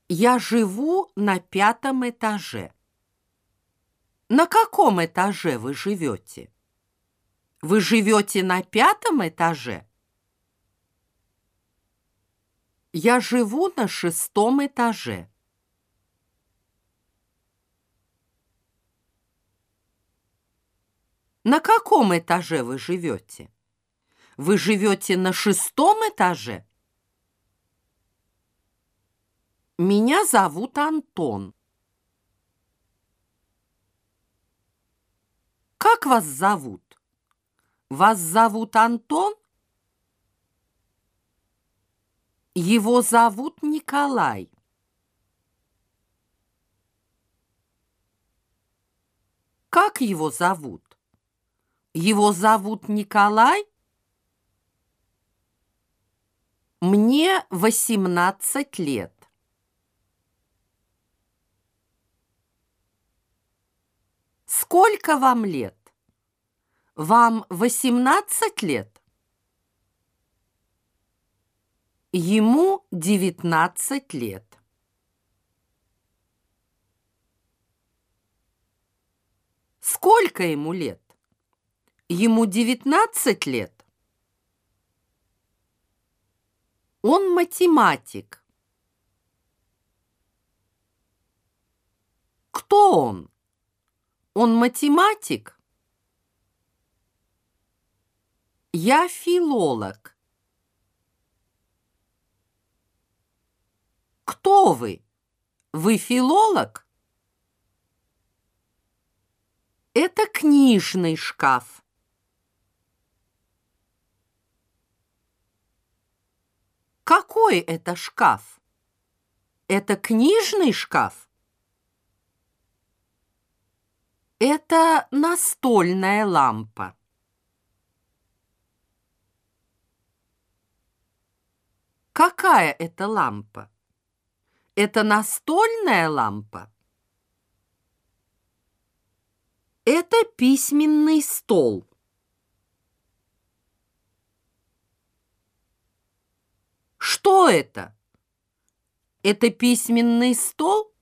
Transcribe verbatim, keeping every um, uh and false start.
Я живу на пятом этаже. На каком этаже вы живете? Вы живете на пятом этаже? Я живу на шестом этаже. На каком этаже вы живете? Вы живете на шестом этаже? Меня зовут Антон. Как вас зовут? Вас зовут Антон? Его зовут Николай. Как его зовут? Его зовут Николай? Мне восемнадцать лет. Сколько вам лет? Вам восемнадцать лет? Ему девятнадцать лет. Сколько ему лет? Ему девятнадцать лет. Он математик. Кто он? Он математик? Я филолог. Кто вы? Вы филолог? Это книжный шкаф. Какой это шкаф? Это книжный шкаф? Это настольная лампа. Какая это лампа? Это настольная лампа? Это письменный стол. Что это? Это письменный стол?